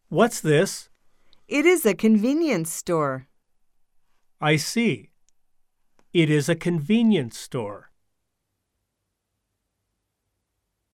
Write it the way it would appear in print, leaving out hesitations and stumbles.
What's this? It is a convenience store. I see. It is a convenience store.